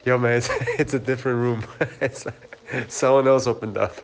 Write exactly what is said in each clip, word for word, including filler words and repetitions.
Yo, man, it's, it's a different room. It's, someone else opened up.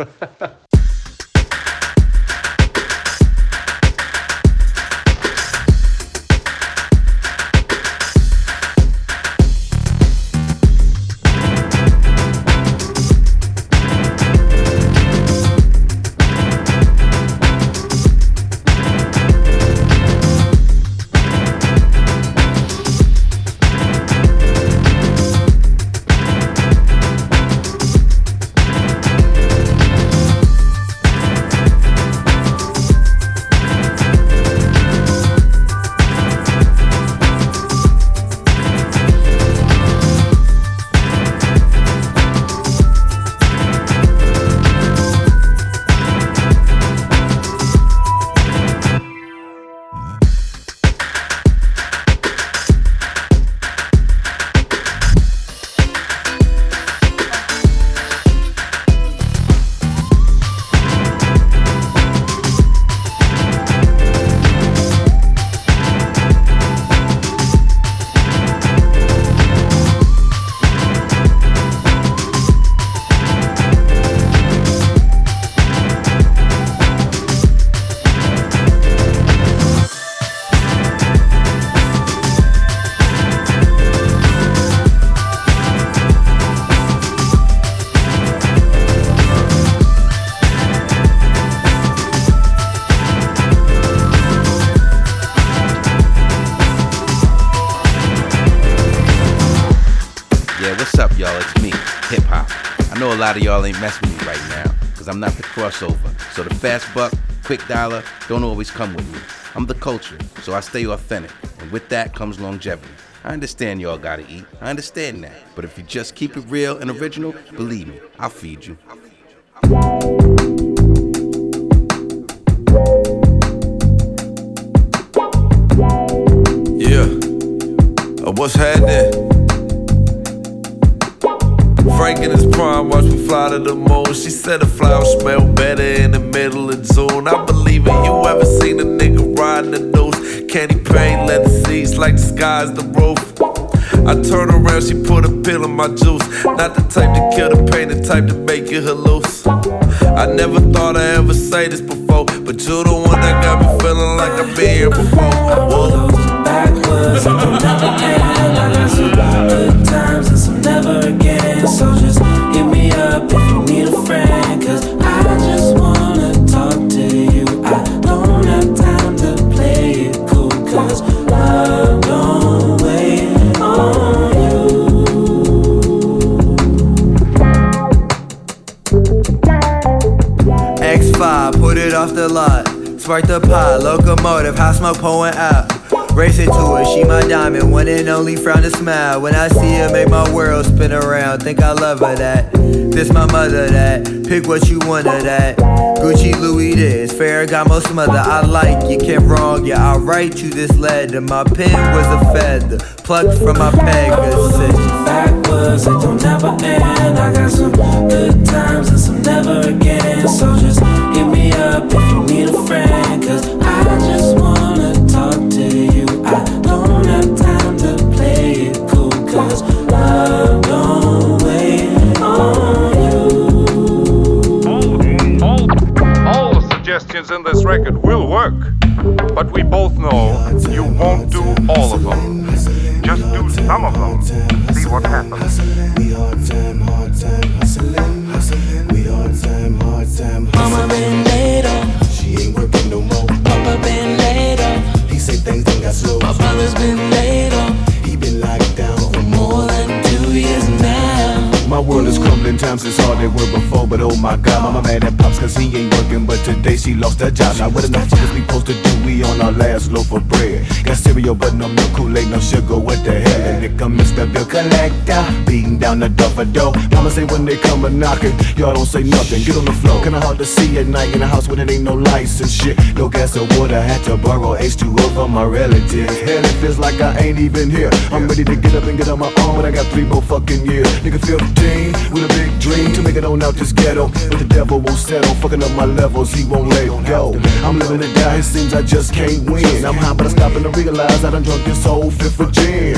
A lot of y'all ain't messing with me right now, cause I'm not the crossover. So the fast buck, quick dollar, don't always come with me. I'm the culture, so I stay authentic, and with that comes longevity. I understand y'all gotta eat, I understand that. But if you just keep it real and original, believe me, I'll feed you. Yeah, uh, what's happening? Frank in his prime, watch me fly to the moon. She said the flowers smell better in the middle of June. I believe it. You ever seen a nigga riding the noose? Candy paint, leather seats like the sky's the roof. I turn around, she put a pill in my juice. Not the type to kill the pain, the type to make you halluce. I never thought I'd ever say this before, but you the one that got me feeling like I've been here before. Whoa. Backwards, and don't never end. I got some good times and some never again. So just hit me up if you need a friend, cause I just wanna talk to you. I don't have time to play it cool, cause love don't wait on you. X five, put it off the lot. Spark the pot, locomotive, hot smoke pouring out. Race into her, she my diamond, one and only, frown to smile. When I see her, make my world spin around. Think I love her that, this my mother that. Pick what you want of that. Gucci, Louis this, Ferragamo smother. I like you, can't wrong you. I write you this letter. My pen was a feather, plucked from my Pegasus. Backwards, it don't never end. I got some good times and some never again. So just hit me up if you need a friend, cause I just wanna talk to you. I don't have time to play it cool, cause love don't wait on you. All, all, all the suggestions in this record will work, but we both know you won't do all of them. Just do some of them. See what happens. We hard time, hard time, hustling, hustling. We hard time, hard time, hustling. Mama been laid off, she ain't working no more. Papa been laid off, he say things done got slow. my brother's been laid off, he been locked down for more than two years now. My world is crumbling, times is hard they were before, but oh my god, mama mad at pops cause he ain't working, but today she lost her job. Now what enough fuckers we supposed to do? We on our last loaf of bread. Got cereal but no milk, Kool-Aid, no sugar, what the hell? And here come Mister Bill Collector, beating down the door for dough. Mama say when they come a knocking, y'all don't say nothing, get on the floor. Kinda hard to see at night in a house when it ain't no lights and shit. No gas or water, had to borrow H two O from my relatives. Hell, it feels like I ain't even here. I'm ready to get up and get on my own, but I got three more fucking years. Nigga fifteen, with a big dream to make it on out this ghetto, but the devil won't settle, fucking up my levels, he won't let go. I'm living to die, it seems I just can't win. I'm high, but I'm stopping to realize I done drunk this whole fifth of gin.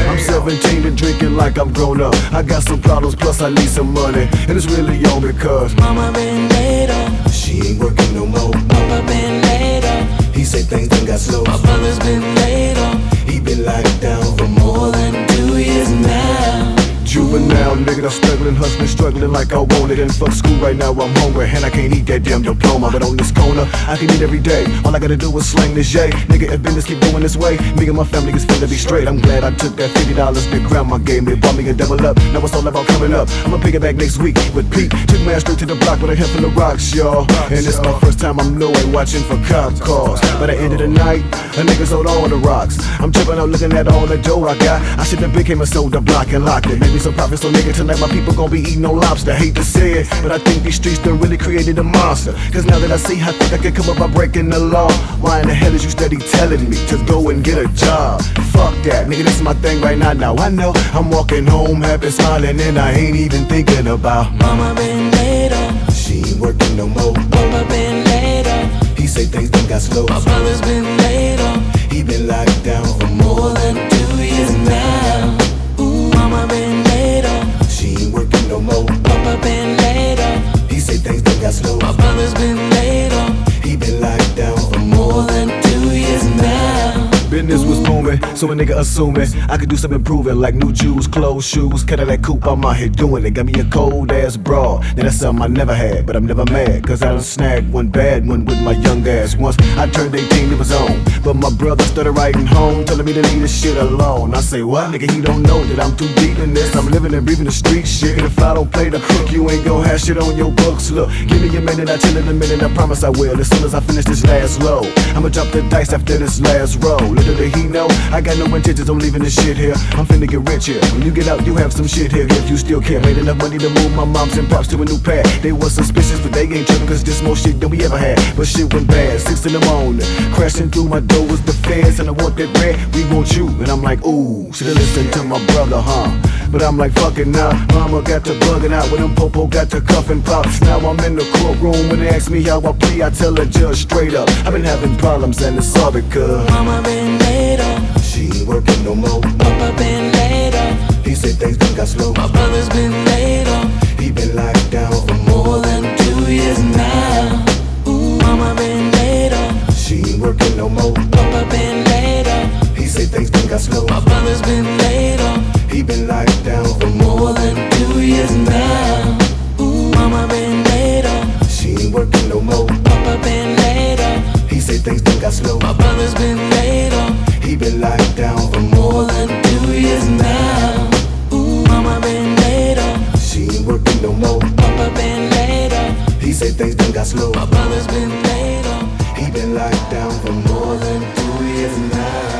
I'm seventeen and drinking like I'm grown up. I got some problems, plus I need some money, and it's really all because Mama been laid off. she ain't working no more. Papa been laid off. He say things done got slow. My brother's been laid off. He been locked down for More than two years now. juvenile nigga, I'm struggling, hustling, struggling like I want it. And fuck school right now, I'm hungry, and I can't eat that damn diploma. But on this corner, I can eat every day. All I gotta do is slang this J. Nigga, if business keep going this way, me and my family is finna be straight. I'm glad I took that fifty dollars that grandma gave me. Bought me a double up, now it's all about coming up. I'ma pick it back next week with Pete. Took man straight to the block with a handful of rocks, y'all. And it's my first time I'm nowhere watching for cop cars. By the end of the night, a nigga's on all the rocks. I'm tripping out looking at all the dough I got. I should have became a soda block and locked it. Maybe some profit, so nigga, tonight my people gon' be eating no lobster. Hate to say it, but I think these streets done really created a monster. Cause now that I see how quick I can come up by breaking the law, why in the hell is you steady telling me to go and get a job? Fuck that, nigga, this is my thing right now. Now I know I'm walking home happy, smiling, and I ain't even thinking about Mama been laid off. she ain't working no more. Papa been laid off. He say things done got slow. My brother's been laid off. He been locked down for More than two years now. Ooh, Mama been laid off. she ain't working no more. Papa been laid off. He say things done got slow. My brother's been laid off. He been locked down for More than two years now. business was booming, so a nigga assuming I could do some improving, like new Jews, clothes, shoes, Cadillac coupe. I'm out here doing it. Got me a cold ass bra. Now that's something I never had, but I'm never mad, cause I done snagged one bad one with my young ass. Once I turned eighteen, it was on, but my brother started writing home, telling me to leave this shit alone. I say, what? Nigga, he don't know that I'm too deep in this. I'm living and breathing the street shit, and if I don't play the hook, you ain't gon' have shit on your books. Look, give me a minute, I chill in a minute, I promise I will. As soon as I finish this last low, I'ma drop the dice after this last roll. Little did he know, I got no intentions on leaving this shit here. I'm finna get rich here. When you get out, you have some shit here. If you still care, made enough money to move my moms and pops to a new pad. They was suspicious, but they ain't tripping, cause this more shit than we ever had. But shit went bad, six in the morning, crashing through my door was the feds, and I want that bread, we want you. And I'm like, ooh, should've listened to my brother, huh? But I'm like, fuck it now. Mama got to bugging out when them popo got to cuffing pops. Now I'm in the courtroom, when they ask me how I plea, I tell the judge straight up, I've been having problems and it's all because Mama been laid off. she ain't working no more. Papa been laid off. He said things done got slow. My brother's been laid off. He been locked down for More than two years now. Ooh, Mama been laid off. she ain't working no more. Papa been laid off. He said things done got slow. My brother's been laid off. He been locked down for More than two years now. Ooh, Mama been laid off. she ain't working no more. Papa been laid off. He said things done got slow. My brother's been laid off. He been locked down for More than two years now. Ooh, Mama been laid off. she ain't working no more. Papa been laid off. He said things done got slow. My brother's been laid off. He been locked down for more than two years now.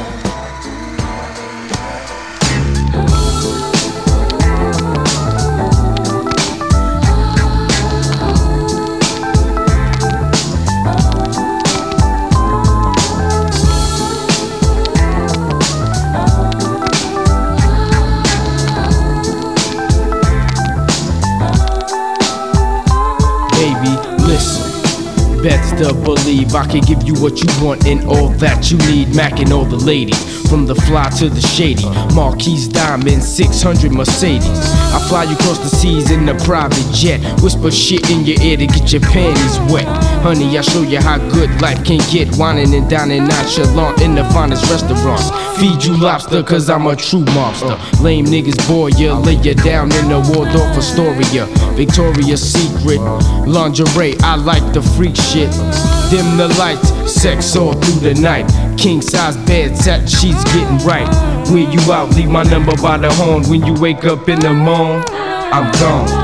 Baby, listen. Best to believe I can give you what you want and all that you need. Mac and all the ladies, from the fly to the shady. Marquise Diamond, six hundred Mercedes. I fly you across the seas in a private jet. Whisper shit in your ear to get your panties wet. Honey, I show you how good life can get. Whining and dining nonchalant in the finest restaurants. Feed you lobster cause I'm a true mobster. Lame niggas bore ya, lay ya down in the Waldorf Astoria. Victoria's Secret, lingerie, I like the freak shit. Dim the lights, sex all through the night. King size bed, satin sheets getting right. Where you out, leave my number by the horn. When you wake up in the morning, I'm gone.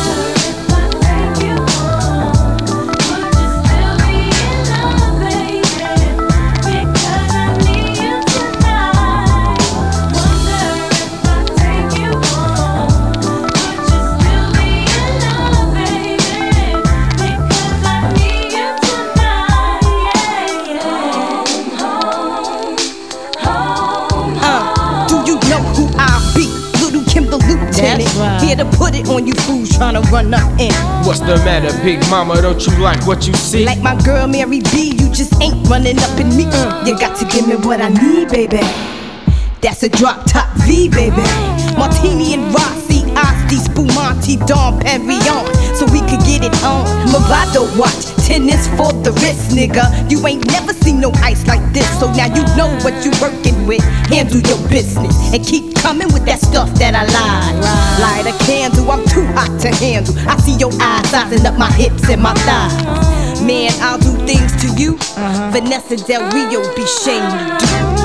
Here to put it on you fools trying to run up in. What's the matter, big mama? Don't you like what you see? Like my girl Mary B, you just ain't running up in me. Uh, you got to give me what I need, baby. That's a drop top V, baby. Martini and Rossi, Asti, Spumante, Dom Perignon, so we could get it on. Movado watch, tennis for the wrist, nigga. You ain't never seen no ice like this, so now you know what you working with. Handle your business and keep coming with that stuff that I lied. Light a candle, I'm too hot to handle. I see your eyes sizing up my hips and my thighs. Man, I'll do things to you uh-huh. Vanessa Del Rio be shamed to do.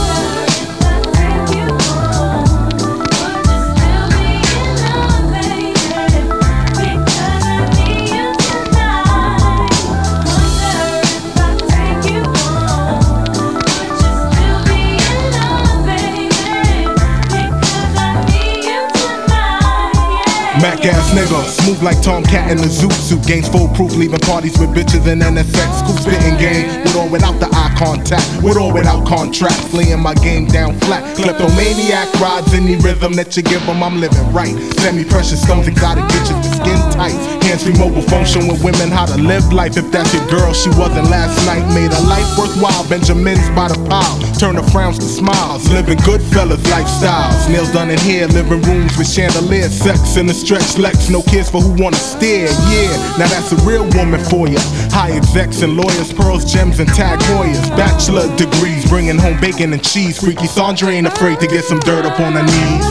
Mac ass nigga, smooth like Tomcat in the zoot suit. Gains full proof, leaving parties with bitches and N S X. Cool spitting game, with or without the eye contact, with or without contract. Laying my game down flat. Kleptomaniac rides any rhythm that you give them, I'm living right. Semi-precious stones, exotic bitches with skin tight. Hands-free mobile phone showing women how to live life. If that's your girl, she wasn't last night. Made a life worthwhile, Benjamins by the pile. Turn her frowns to smiles, living good fellas lifestyles. Nails done in here, living rooms with chandeliers. Sex in the stretch Lex, no kids for who wanna stare, yeah. Now that's a real woman for ya. High execs and lawyers, pearls, gems, and tag Hoyas. Bachelor degrees, bringing home bacon and cheese. Freaky Sandra ain't afraid to get some dirt up on her knees.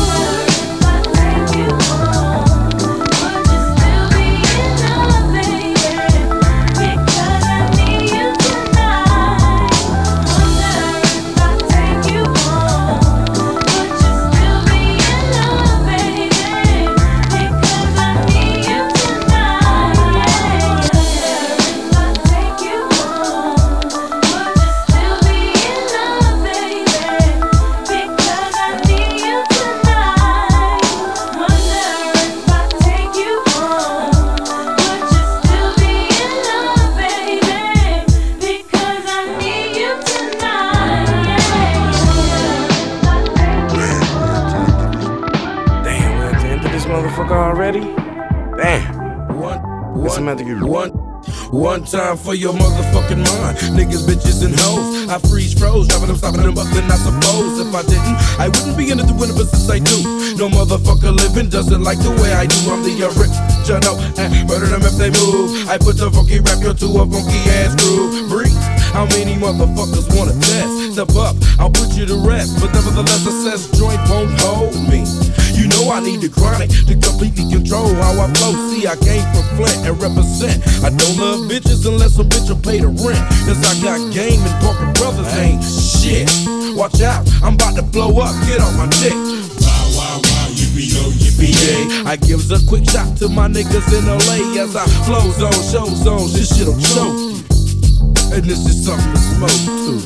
Already? Damn. One, one, one, one time for your motherfucking mind. Niggas, bitches, and hoes. I freeze froze, driving them, stopping them, but then I suppose if I didn't, I wouldn't be into the winter, but since I do, no motherfucker living doesn't like the way I do. I'm the original, and murder them if they move. I put the funky rap to a funky ass groove. Breathe. How many motherfuckers wanna test? Step up, I'll put you to rest. But nevertheless, a cess joint won't hold me. You know I need the chronic to completely control how I flow. See, I came from Flint and represent. I don't love bitches unless a bitch will pay the rent. Cause I got game and Parker Brothers ain't shit. Watch out, I'm about to blow up, get on my dick. Wow, wow, wow, yippee-yo, yippee-yay. I gives a quick shot to my niggas in L A as I flow zone, show zones. This shit'll choke you. And this is something to smoke too.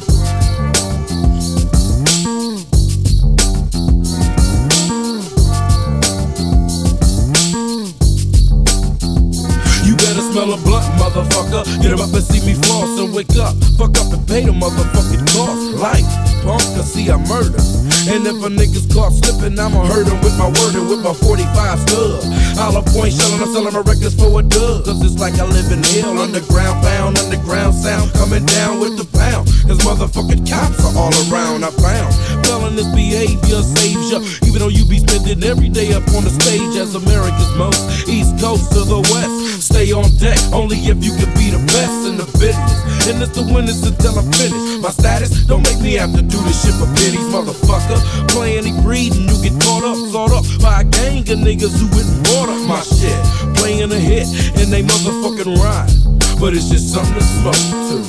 You better smell a blunt, motherfucker. Get him up and see me floss and wake up. Fuck up and pay the motherfucking cost. Life, punk, cause see I murder. And if a nigga's caught slipping, I'ma hurt him with my word and with my forty-five stub. Hollow point shellin', I'm sellin' my records for a dub. Cause it's like I live in hell, underground pound, underground sound coming down with the pound. Cause motherfucking cops are all around, I found. Felonious behavior saves ya, even though you be spending every day up on the stage as America's most. East Coast to the West, stay on deck, only if you can be the best in the business. And it's the winners until I finish. My status don't make me have to do this shit for pennies, motherfucker. Playing and breeding, you get caught up, sawed up by a gang of niggas who went and bought up my shit. Playing a hit and they motherfucking rhyme, but it's just something to smoke too.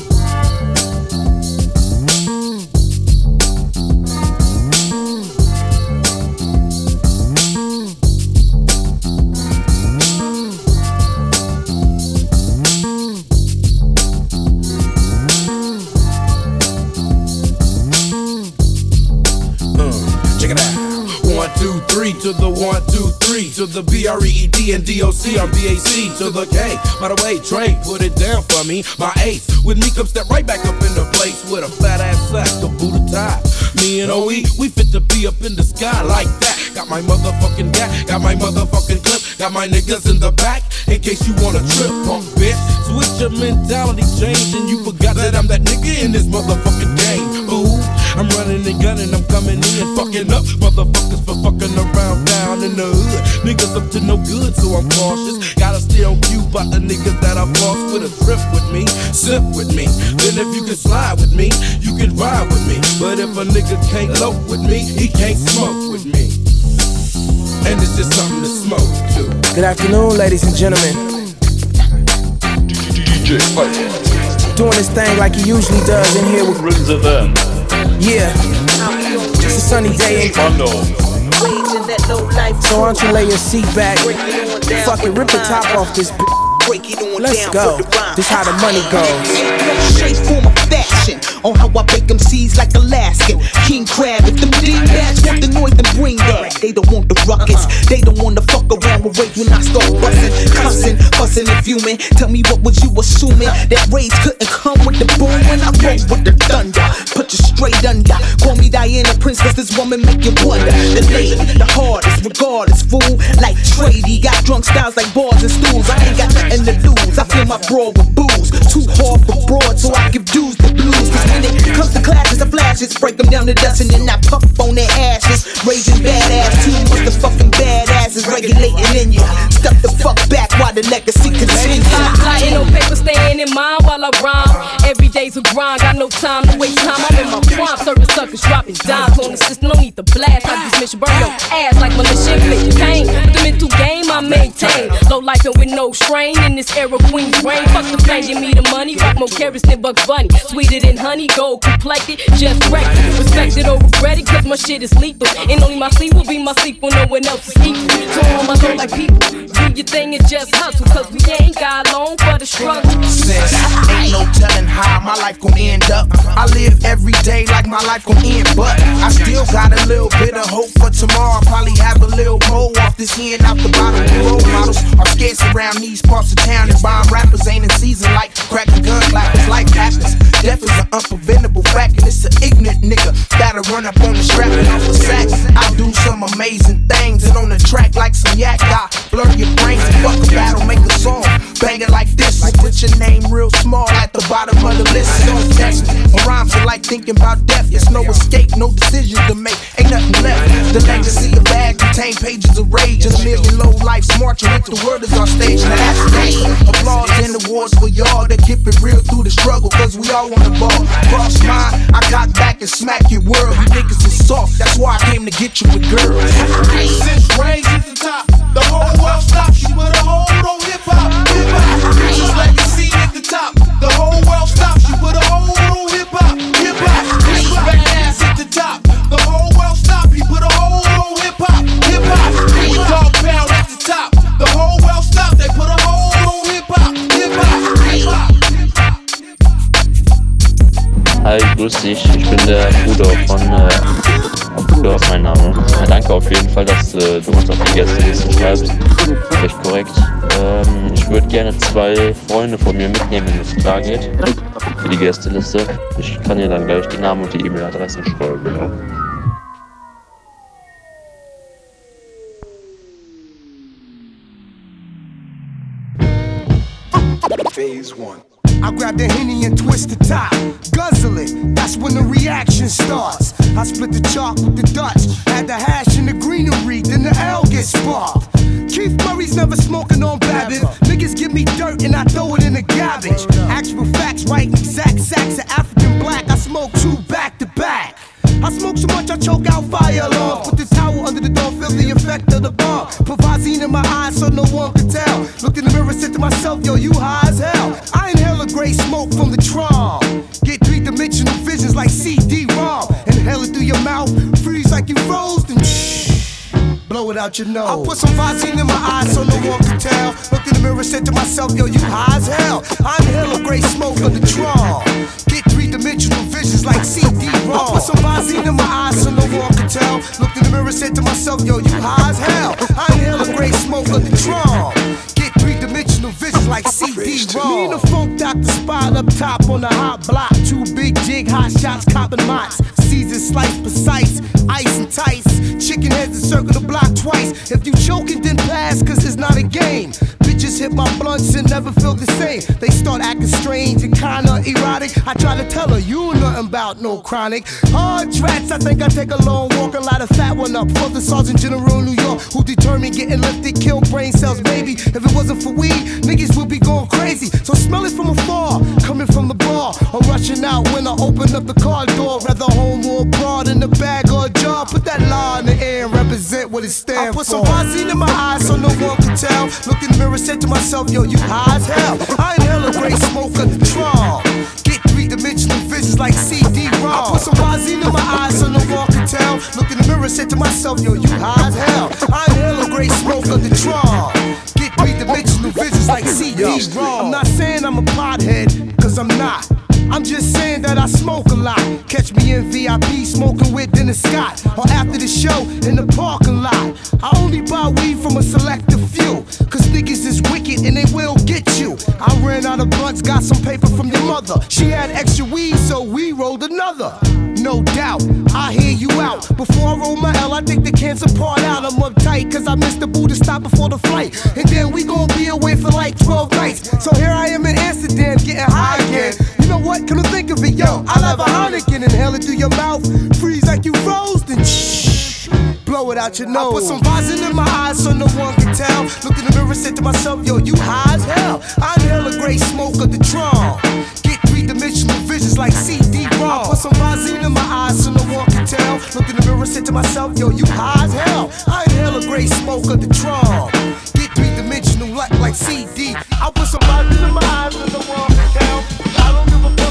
To the one, two, three, to the B R E E D and D O C on B A C, to the K. By the way, Trey, put it down for me. My ace, with me come step right back up in the place with a fat ass sack, a Buddha tie. Me and O E, we fit to be up in the sky like that. Got my motherfucking gat, got my motherfucking clip, got my niggas in the back, in case you wanna trip, punk bitch. Switch your mentality change and you forgot that I'm that nigga in this motherfucking game, fool. I'm running and gunning, I'm coming in, fucking up motherfuckers for fucking around down in the hood. Niggas up to no good, so I'm cautious. Gotta stay on cue about the niggas that I lost with a trip with me, sip with me. Then if you can slide with me, you can ride with me. But if a nigga can't loaf with me, he can't smoke with me. And it's just something to smoke too. Good afternoon, ladies and gentlemen. D J Fight. Doing this thing like he usually does in here with Rings of them. Yeah, it's a sunny day in so why don't you lay your seat back, fuck it, rip the top off this b- let's go, this how the money goes. Shape, form, of fashion, on how I bake them seeds like Alaskan king crab. If them D-bats want the noise, then bring that. They don't want the ruckus, they don't want to fuck around with rage when I start bustin', cussing, fussing and fuming. Tell me what was you assuming, that rage couldn't come with the boom when I roll with the thunder, put you straight under. Call me Diana Prince, cause this woman make you wonder. The lady, the hardest, regardless, fool. Like Trady, got drunk styles like bars and stools. I ain't got nothing to lose, I fill my broad with booze. Too hard for broad, so I give dues the blues. Cause when it comes to clashes, I flashes, break them down to dust and then I puff on their ashes. Raging badass, too much the fucking badasses regulating in ya. Stuff the fuck back while the legacy continues. Ain't no paper staying in mind while I rhyme. Every day's a grind, got no time to waste time. I'm in my prime, serving suckers, dropping dimes on the system. No need to blast, I just mission burn your ass like militia inflict pain. The mental game I maintain, low life and with no strain. In this era, Queen's reign. Fuck the fame, give me the money. Rock more carrots than Bugs Bunny. Sweeter than honey, gold complected, just wrecked. Respected or regretted, cause my shit is lethal. And only my sleep will be my sleep when no one else is equal. So on my soul like people, do your thing and just hustle. Cause we ain't got long for the struggle. Sis, ain't no telling how my life gon' end up. I live every day like my life gon' end, but I still got a little bit of hope for tomorrow. Probably have a little more off this hand out the bottle. Role models are scarce around these parts of town, and bomb rappers ain't in season like cracking gun clappers. Life happens, death is an unpreventable fact, and it's an ignorant nigga that'll run up on the strap and off the sack. I do some amazing things, and on the track like some yak, I blur your brains and fuck a battle, make a song, bang it like this. So put your name real small at the bottom of the list. Don't text me. My rhymes are like thinking about death. There's no escape, no decisions to make, ain't nothing left. The legacy of bad contain pages of rage, and a million low lives marching with the word is our stage. Now that's stage. Applause and awards for y'all that keep it real through the struggle, cause we all want the ball. Cross mine, I got back and smack your world. You niggas is soft, that's why I came to get you with girls. Since raised at the top, the whole world stops you with a hold on hip hop. Hip hop, just like you see at the top, the whole world stops you with a hold on hip hop. Hip hop, badass at the top, the whole world stop you with a hold on hip hop. Hip hop, dog pound at the top, the whole world stop, they put a hold on hip hop. Hip hop, hip hop. Hi, grüß dich, ich bin der Bruder von, äh, Bruder ist mein Name. Ja, danke auf jeden Fall, dass äh, du uns auf die Gästeliste schreibst, recht korrekt. Ähm, ich würde gerne zwei Freunde von mir mitnehmen, wenn es klar geht, für die Gästeliste. Ich kann dir dann gleich die Namen und die E-Mail-Adressen schreiben, ja. Phase one. I grab the Henny and twist the top, guzzle it, that's when the reaction starts. I split the chalk with the Dutch, add the hash in the greenery, then the L gets sparked. Keith Murray's never smoking on Babbitt. Niggas give me dirt and I throw it in the garbage. Actual facts, right? Exact sacks of African black. I smoke two back to back. I smoke so much I choke out fire alarms. Put the towel under the door, feel the effect of the bomb. Put Visine in my eyes so no one can tell. Looked in the mirror, said to myself, yo, you high as hell. I inhale a gray smoke from the Tron. Get three-dimensional visions like C D ROM. Inhale it through your mouth, freeze like you froze, then shh, blow it out your nose. I put some Visine in my eyes so no one can tell. Looked in the mirror, said to myself, yo, you high as hell. I inhale a gray smoke from the Tron. Get three-dimensional visions like C D ROM. I put some Visine in my eyes so no one can tell. Looked in the mirror, said to myself, yo, you high as hell. I inhale a gray smoke of the Tron. Get three-dimensional visions like C D ROM. Me and the funk doctor spot up top on the hot block. Two big jig, hot shots, copping mots. Season slice, precise, ice and tights. Chicken heads and circle the block twice. If you choking, then pass, cause it's not a game. Bitches just hit my blunts and never feel the same. They start acting strange and kinda erotic. I try to tell her, you nothing about no chronic. Hard tracks, I think I take a long walk and light a fat one up for the Sergeant General in New York, who determined getting lifted, kill brain cells, baby. If it wasn't for weed, niggas would be going crazy. So smell it from afar, coming from the bar, or rushing out when I open up the car door. Rather home or abroad, in the bag or a jar. Put that law in the air and represent what it stands for. I put some Vaseline in my eyes so no one can tell. Look in the mirror, said to myself, yo, you high as hell. I inhale a great smoke of the Tron. Get three-dimensional visions like C D ROM. I put some Vaseline in my eyes so no one can tell. Look in the mirror, said to myself, yo, you high as hell. I inhale a great smoke of the Tron. Get three-dimensional visions like C D ROM. I'm not saying I'm a pothead, cause I'm not. I'm just saying that I smoke a lot. Catch me in V I P smoking with Dennis Scott, or after the show in the parking lot. I only buy weed from a selective few, cause niggas is wicked and they will get you. I ran out of blunts, got some paper from your mother. She had extra weed, so we rolled another. No doubt, I hear you out. Before I roll my L, I take the cancer part out. I'm uptight, cause I missed the boo to stop before the flight. And then we gon' be away for like twelve nights. So here I am in Amsterdam, getting high again. You know what? Come to think of it, yo, I'll have a Heineken, inhale it through your mouth, freeze like you froze, then shh, blow it out your nose. I put some Vaseline in my eyes so no one can tell. Looked in the mirror, said to myself, yo, you high as hell. I inhale a great smoke of the Tron. Get three-dimensional visions like C D ROM. I put some Vaseline in my eyes so no one can tell. Looked in the mirror, said to myself, yo, you high as hell. I inhale a great smoke of the Tron. Get three-dimensional like, like C D. I put some Vaseline in my eyes so no one can tell. I don't give a fuck.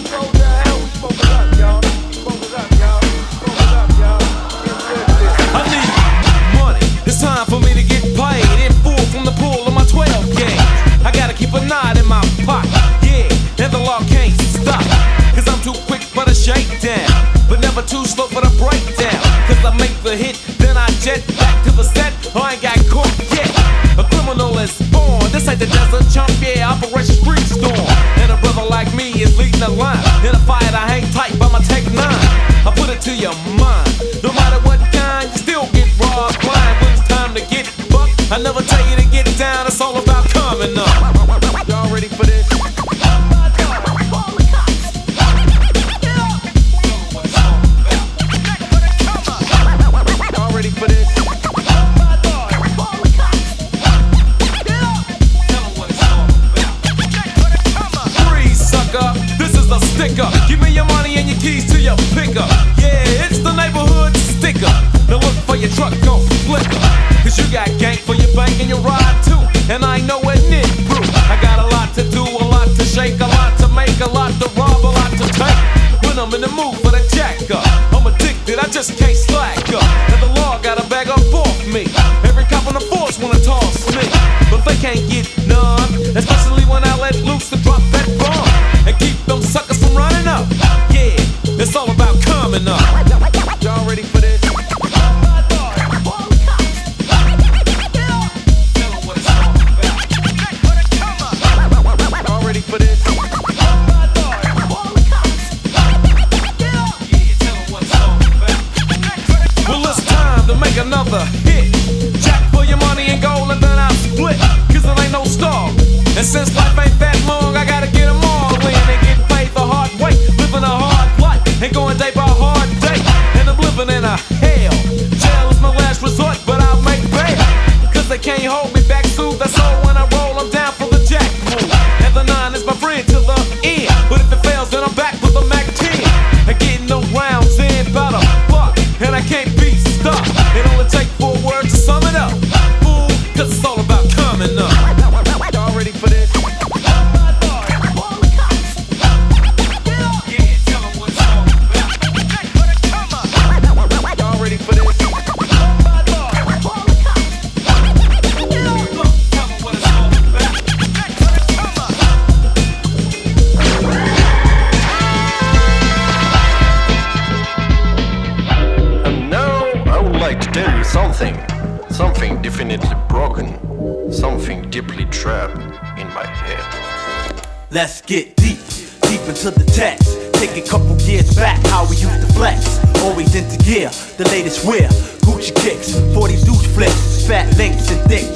I need money, it's time for me to get paid. In full from the pool of my twelve game. I gotta keep a knot in my pocket, yeah, and the law can't stop. Cause I'm too quick for the shakedown, but never too slow for the breakdown. Cause I make the hit, then I jet back to the set. I ain't got caught yet. A criminal is born, this ain't the desert chump, yeah, Operation Street Storm. And a brother like me is leading the line. In a fight I hang tight by my Tech nine. I put it to your mind, no matter what kind, you still get raw blind. When it's time to get bucked, I never tell you to get down, it's all about coming up. Y'all ready for this? Y'all ready for this? This is a sticker. Give me your money and your keys to your pickup. Yeah, it's the neighborhood sticker. Now look for your truck, go flicker. Cause you got gang for your bank and your ride too. And I ain't nowhere near through. I got a lot to do, a lot to shake, a lot to make, a lot to rob, a lot to take. When I'm in the mood for the jack up, I'm addicted, I just can't slack up. And the law got a bag up off me. Every cop on the force wanna toss me, but they can't get none. Especially when I let loose to drop that bomb and keep them suckers from running up. Yeah, it's all about coming up. Y'all ready for this? Y'all ready for this? Well, it's time to make another hit. Jack for your money and gold and then I'll split. Cause it ain't no star. And since life ain't that long, I gotta get them all in and get paid the hard way. Living a hard life and going day by hard day. And I'm living in a hell. Jail is my last resort, but I'll make bail. Cause they can't hold me back, soothe. That's all when I roll, I'm down for the jack move. And the nine is my friend to the end. But if it fails, then I'm back with a Mac ten. And getting no rounds in about a buck. And I can't be stuck. It only take four words to sum it up. Fool, cause it's all about coming up. Y'all ready for this? Something, something definitely broken, something deeply trapped in my head. Let's get deep, deep into the text. Take a couple years back, how we used to flex. Always into gear, the latest wear. Gucci kicks, forty douche flips, fat links and thick chicks.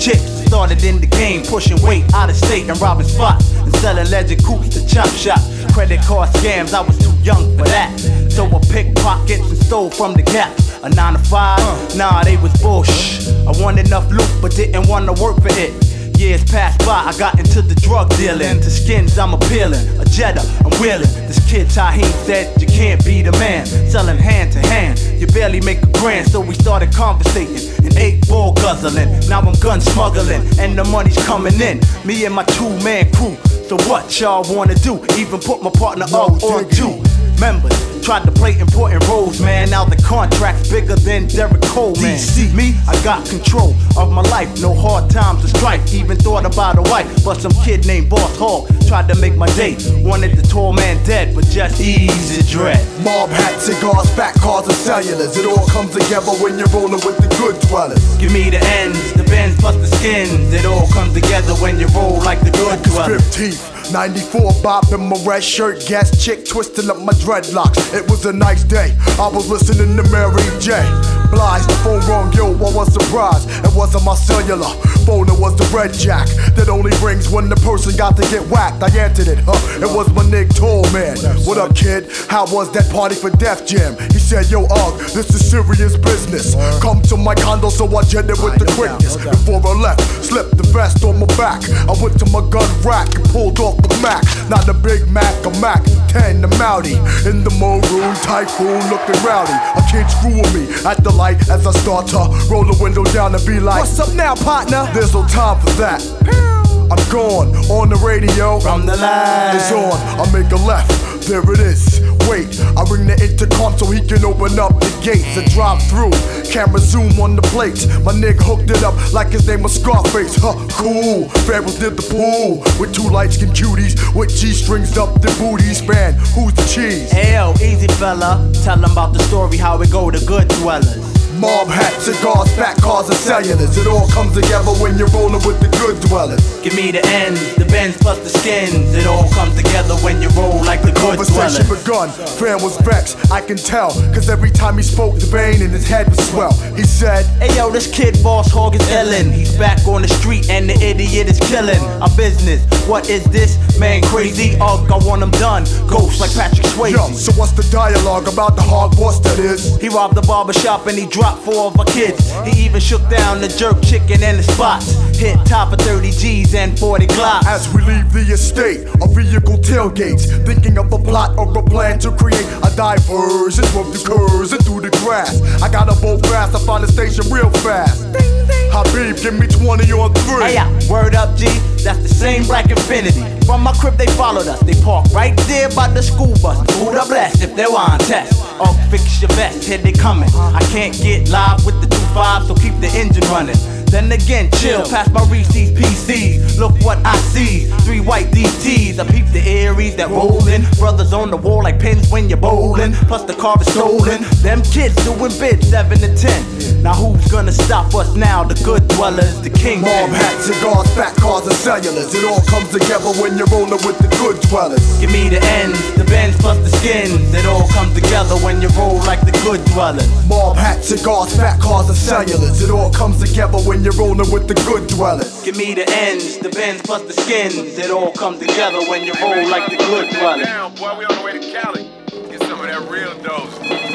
started in the game, pushing weight out of state and robbing spots and selling legend coops to chop shop. Credit card scams, I was too young for that. So I pickpockets and stole from the Gap. A nine to five, nah, they was bullshit. I wanted enough loot, but didn't wanna work for it. Years passed by, I got into the drug dealing. To skins, I'm appealing. A Jetta, I'm wheeling. This kid Taheem said, you can't be the man. Selling hand to hand, you barely make a grand. So we started conversating and eight ball guzzling. Now I'm gun smuggling, and the money's coming in. Me and my two-man crew. So what y'all wanna do? Even put my partner up on two members. Tried to play important roles, man. Now the contract's bigger than Derek Coleman. See me, I got control of my life. No hard times or strife. Even thought about a wife, but some kid named Boss Hog tried to make my day. Wanted the tall man dead, but just easy dread. Mob hats, cigars, fat cars, and cellulars. It all comes together when you're rolling with the good dwellers. Give me the ends, the bends plus the skins. It all comes together when you roll like the good dwellers. fifteenth. ninety-four bop in my red shirt, gas chick twisting up my dreadlocks. It was a nice day, I was listening to Mary J. Blige, the phone rung, yo, I was surprised. It wasn't my cellular phone, it was the red jack that only rings when the person got to get whacked. I answered it, huh? It was my nigga Tall Man. What up, kid? How was that party for Def Jam? He said, yo, Ugg, this is serious business. Come to my condo, so I jetted with the quickness. Before I left, slipped the vest on my back. I went to my gun rack and pulled off the Mac. Not a Big Mac, a Mac ten, the Mountie. In the maroon, typhoon, looking rowdy. A kid screwing me at the light as I start to roll the window down and be like, what's up now, partner? There's no time for that. I'm gone on the radio. From the line is on. I make a left. There it is. Wait, I ring the intercom so he can open up the gates and drive through. Camera zoom on the plates. My nigga hooked it up like his name was Scarface. Huh, cool. Pharaohs did the pool with two light-skinned cuties with G-strings up their booties. Man, who's the cheese? Hey yo, easy fella. Tell them about the story, how it go to good dwellers. Mob hats, cigars, fat cars, and cellulars. It all comes together when you're rolling with the good dwellers. Give me the ends, the bends plus the skins. It all comes together when you roll like the good dwellers. Conversation begun, Fran was vexed, I can tell. Cause every time he spoke, the vein in his head was swell. He said, hey yo, this kid Boss Hog is illin'. He's back on the street and the idiot is killing our business. What is this? Man crazy, Ugg, I want him done. Ghost like Patrick Swayze. Yo, so what's the dialogue about the hog boss that is? He robbed the barbershop and he dropped four of our kids. He even shook down the jerk chicken and the spots. Hit top of thirty G's and forty Glocks. As we leave the estate, our vehicle tailgates, thinking of a plot or a plan to create a diversion from the curves and through the grass. I got a boat fast, I find the station real fast. Habib, give me twenty on three. Hey, yeah, word up, G. That's the same Black Infinity. From my crib, they followed us. They parked right there by the school bus. Who'd have blessed if they were on test? Oh, fix your vest, here they coming. I can't get live with the two five, so keep the engine running. Then again, chill, past my Reese's P Cs. Look what I see, three white D Ts. I peep the Aries that rollin'. Brothers on the wall like pins when you're bowling. Plus the car is stolen. Them kids doing bids, seven to ten. Now who's gonna stop us now? The good dwellers, the king. Mob hats, cigars, fat cars, and cellulars. It all comes together when you're rolling with the good dwellers. Give me the ends, the bends plus the skins. It all comes together when you roll like the good dwellers. Mob hats, cigars, fat cars, and cellulars. It all comes together when you're rolling with the good dwellers. Give me the ends, the bends plus the skins. It all comes together when you roll like the good dwellers. Down, boy, we on the way to Cali. Get some of that real dose.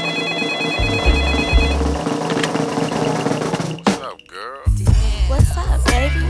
What's up, girl? What's up, baby?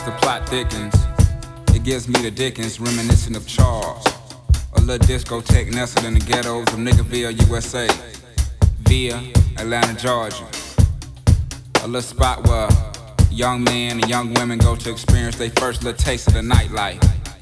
the plot thickens, it gives me the Dickens, reminiscent of Charles. A little discotheque nestled in the ghettos of Niggerville, U S A, via Atlanta, Georgia. A little spot where young men and young women go to experience their first little taste of the nightlife.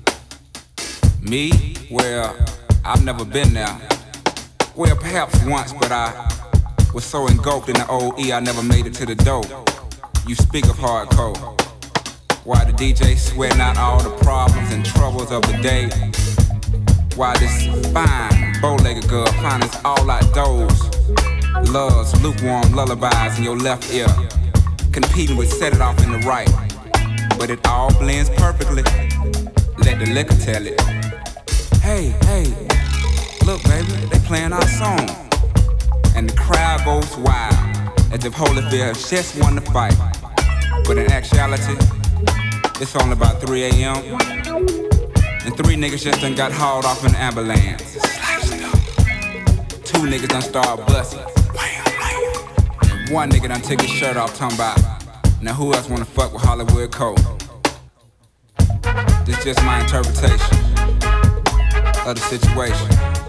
Me? Well, I've never been there. Well, perhaps once, but I was so engulfed in the old E, I never made it to the door. You speak of hardcore. Why the D J sweating out all the problems and troubles of the day? Why this fine, bow-legged girl finds us all outdoors? Loves lukewarm lullabies in your left ear, competing with set it off in the right. But it all blends perfectly. Let the liquor tell it. Hey, hey, look baby, they playing our song. And the crowd goes wild, as if Holyfield just won the fight. But in actuality, it's only about three a.m. and three niggas just done got hauled off in an ambulance. Two niggas done started busting. And one nigga done took his shirt off talking about, now who else wanna fuck with Hollywood Cole? This just my interpretation of the situation.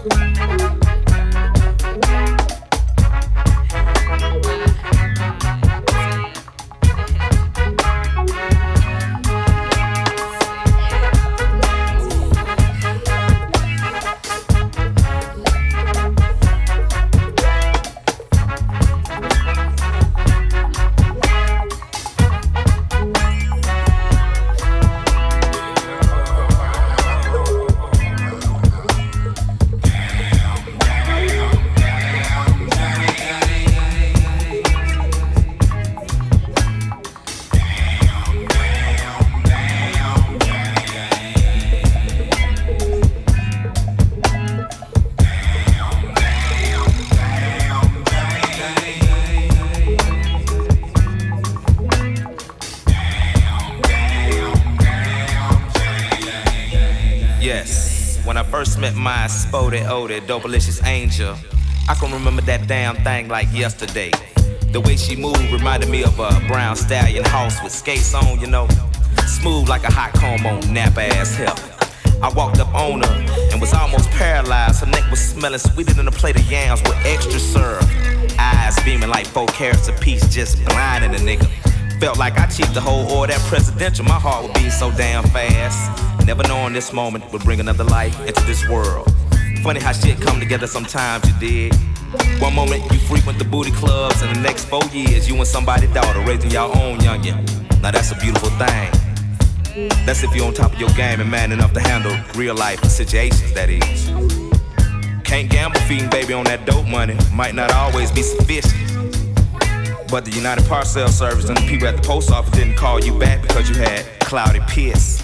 Met my spotted, oded, dope-alicious angel. I can remember that damn thing like yesterday. The way she moved reminded me of a brown stallion horse with skates on, you know. Smooth like a hot comb on nap-ass hip. I walked up on her and was almost paralyzed. Her neck was smelling sweeter than a plate of yams with extra syrup. Eyes beaming like four carats apiece, just blinding the nigga. Felt like I cheaped the whole order that presidential. My heart would beat so damn fast. Never knowing this moment would bring another life into this world. Funny how shit come together sometimes, you dig. One moment you frequent the booty clubs, and the next four years you and somebody's daughter raising your own youngin'. Now that's a beautiful thing. That's if you're on top of your game and man enough to handle real life situations, that is. Can't gamble feeding baby on that dope money. Might not always be sufficient. But the United Parcel Service and the people at the post office didn't call you back because you had cloudy piss.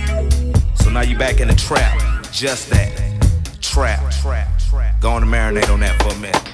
So now you back in the trap, just that, trap. Go on and marinate on that for a minute.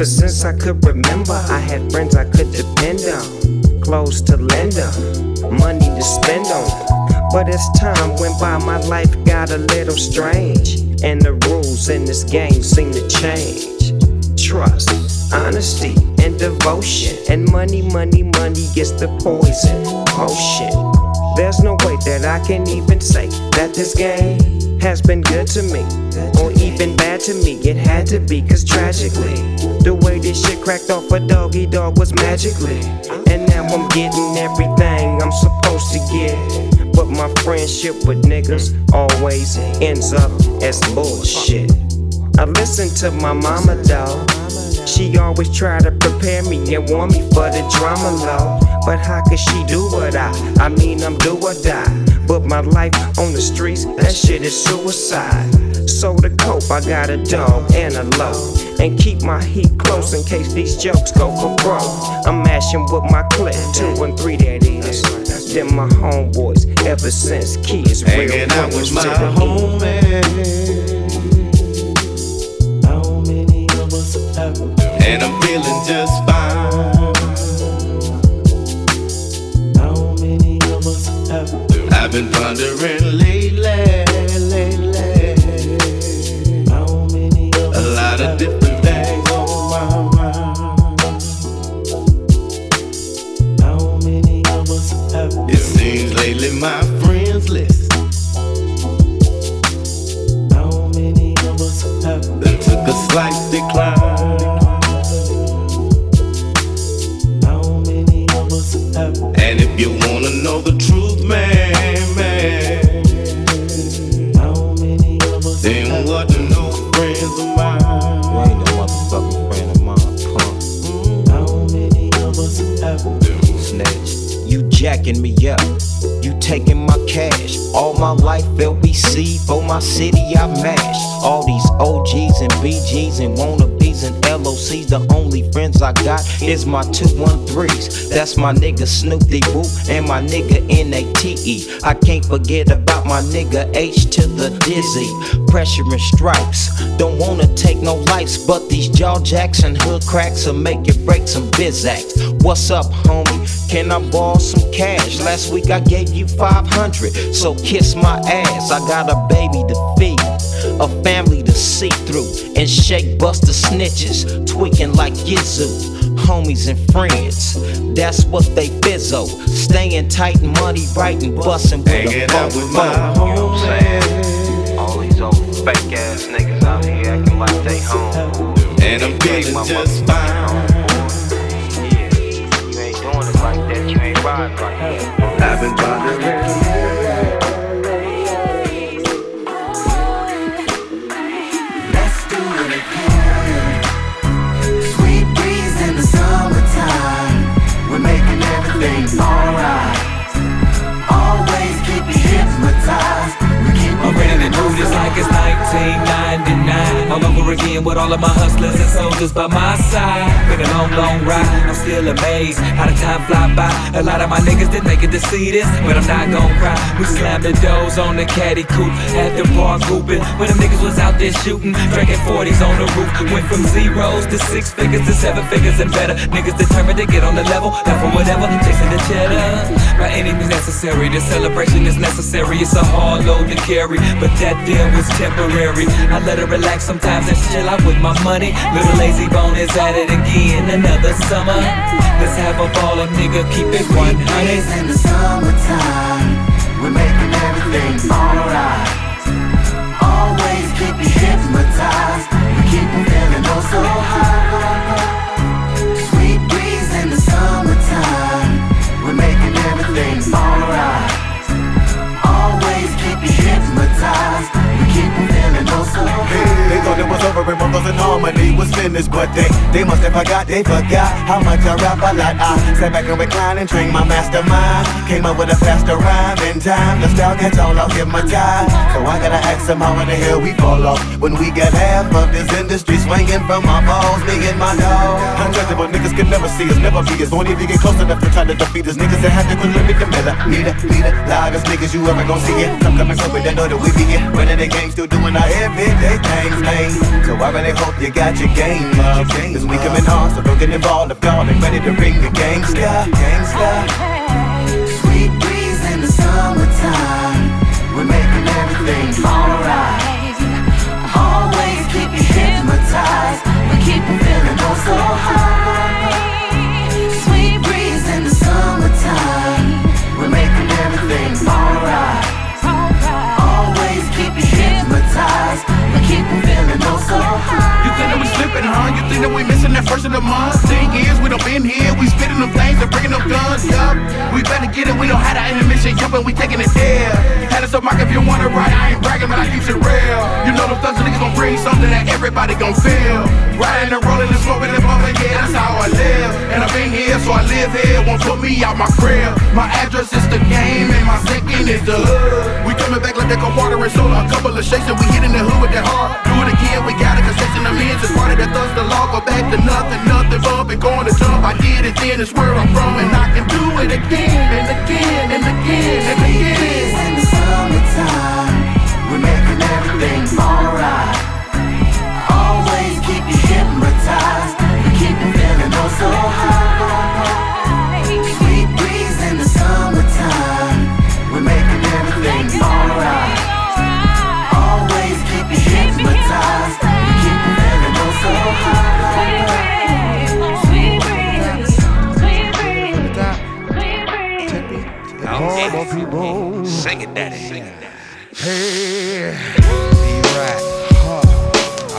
Ever since I could remember, I had friends I could depend on, clothes to lend on, money to spend on. But as time went by, my life got a little strange, and the rules in this game seem to change. Trust, honesty, and devotion, and money, money, money gets the poison potion. There's no way that I can even say that this game has been good to me, or even bad to me. It had to be, cause tragically, the way this shit cracked off a doggy dog was magically. And now I'm getting everything I'm supposed to get, but my friendship with niggas always ends up as bullshit. I listen to my mama though. She always try to prepare me and warn me for the drama low. But how could she do what I, I mean I'm do or die. But my life on the streets, that shit is suicide. So to cope, I got a dog and a low, and keep my heat close in case these jokes go for broke. I'm mashing with my clip, two and three that is. Them my homeboys ever since kids. Hanging out with my homies. And I'm feeling just fine. How many of us have? I've been pondering lately, lately. How many of us a lot of different things on my mind. How many of us have? It seems lately my friends list. How many of us have? Then took a slight decline. And if you wanna know the truth, man, man, how many of us then what to know friends of mine? You ain't no motherfucking friend of mine, punk. How many of us have Snitch, you jacking me up, you taking my cash. All my life L B C, for my city I mash. All these O Gs and B Gs and wannabes and L O Cs, the only friends I got is my two one threes. That's my nigga Snoopy Woo and my nigga N A T E. I can't forget about my nigga H to the Dizzy. Pressure and stripes, don't wanna take no lives, but these jaw jacks and hood cracks will make you break some biz acts. What's up, homie? Can I borrow some cash? Last week I gave you five hundred, so kiss my ass. I got a baby to feed, a family to see through, and shake buster snitches, tweaking like Yizzoo. Homies and friends, that's what they fizzo. Staying tight and money right and bustin' with hanging a out with my homies. You know what I'm saying? All these old fake ass niggas out here acting like they home. And I'm feeling just fine. Yeah, you ain't doing it like that, you ain't riding like that. I've been pondering. Alright, always keep you hypnotized. I'm ready to do this like it's nineteen ninety-nine. All over again with all of my hustlers and soldiers by my side. Been a long, long ride, I'm still amazed how the time fly by. A lot of my niggas didn't make it to see this, but I'm not gon' cry. We slammed the doors on the caddy coupe at the park hooping. When them niggas was out there shooting, drinking forties on the roof. Went from zeros to six figures to seven figures and better. Niggas determined to get on the level, not for whatever, chasing the cheddar. By any means necessary, the celebration is necessary. It's a hard load to carry, but that deal was temporary. I let her relax sometimes and chill out with my money. Little lazy bone is at it again, another summer. Let's have a ball and nigga, keep it one hundred. In the summertime, we're making everything alright. Always keep you hypnotized. We keep you feeling oh so high. Sweet breeze in the summertime, we're making everything alright. Always keep you hypnotized. We keep you feeling oh so high. They thought it was over and Brothers in Harmony was finished, but they, they must have forgot, they forgot how much I rap a lot. I sat back and recline and trained my mastermind. Came up with a faster rhyme in time. The style gets all off in my time. So I gotta ask them how in the hell we fall off when we got half of this industry swinging from my balls, me and my dog. Untouchable niggas can never see us, never be us. Won't even get close enough to try to defeat us. Niggas that have to quit living the miller. Leader, leader, loudest niggas you ever gon' see it. Come coming quick with that know that we be it. Running the game, still doing our everyday things, man. So I really hope you got your game team up. Cause we coming hard, so don't get involved if y'all ain't ready to ring the gangsta. Gangsta. Sweet breeze in the summertime, we're making everything alright. Always keep you hypnotized, we keep you feeling oh so high. Sweet breeze in the summertime, we're making everything alright. Always keep you hypnotized, we keep you feeling oh so high. You think that we slipping, huh? You think that we missing that first of the month? Thing is, we done been here, we spitting them things and bringing them guns, yup. We better get it, we don't have that intermission, yup, and we taking it there. Had it so Mike, if you want it right, I ain't bragging, but I keep it real. You know them thugs niggas gon' bring something that everybody gon' feel. Riding and rolling and smoking and bumping, yeah, that's how I live. And I've been here, so I live here, won't put me out my crib. My address is the game, and my second is the hood. We coming back like they gon' water and soda, a couple of shakes, and we hitting the hood with that hard. Do it again, we got a concession, I'm in, just part of that thugs, the law, go back to nothing, nothing, bumping, going to jump. I did it then, it's where I'm from, and I can do it again, and again, and again, and again. In the summertime, we're making everything alright. Always keep you hypnotized, we keep you feeling oh so high. Sweet breeze in the summertime, we're making everything alright. Always keep you hypnotized, we keep you feeling oh so high. Okay. Sing it, daddy. Sing it, daddy. Hey, right. Uh,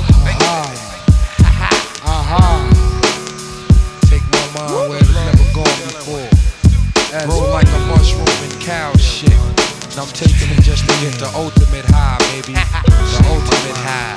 uh, uh-huh. Take my mind where it's never gone before. Grow like a mushroom and cow shit. And I'm taking it just to get the ultimate high, baby. The ultimate high.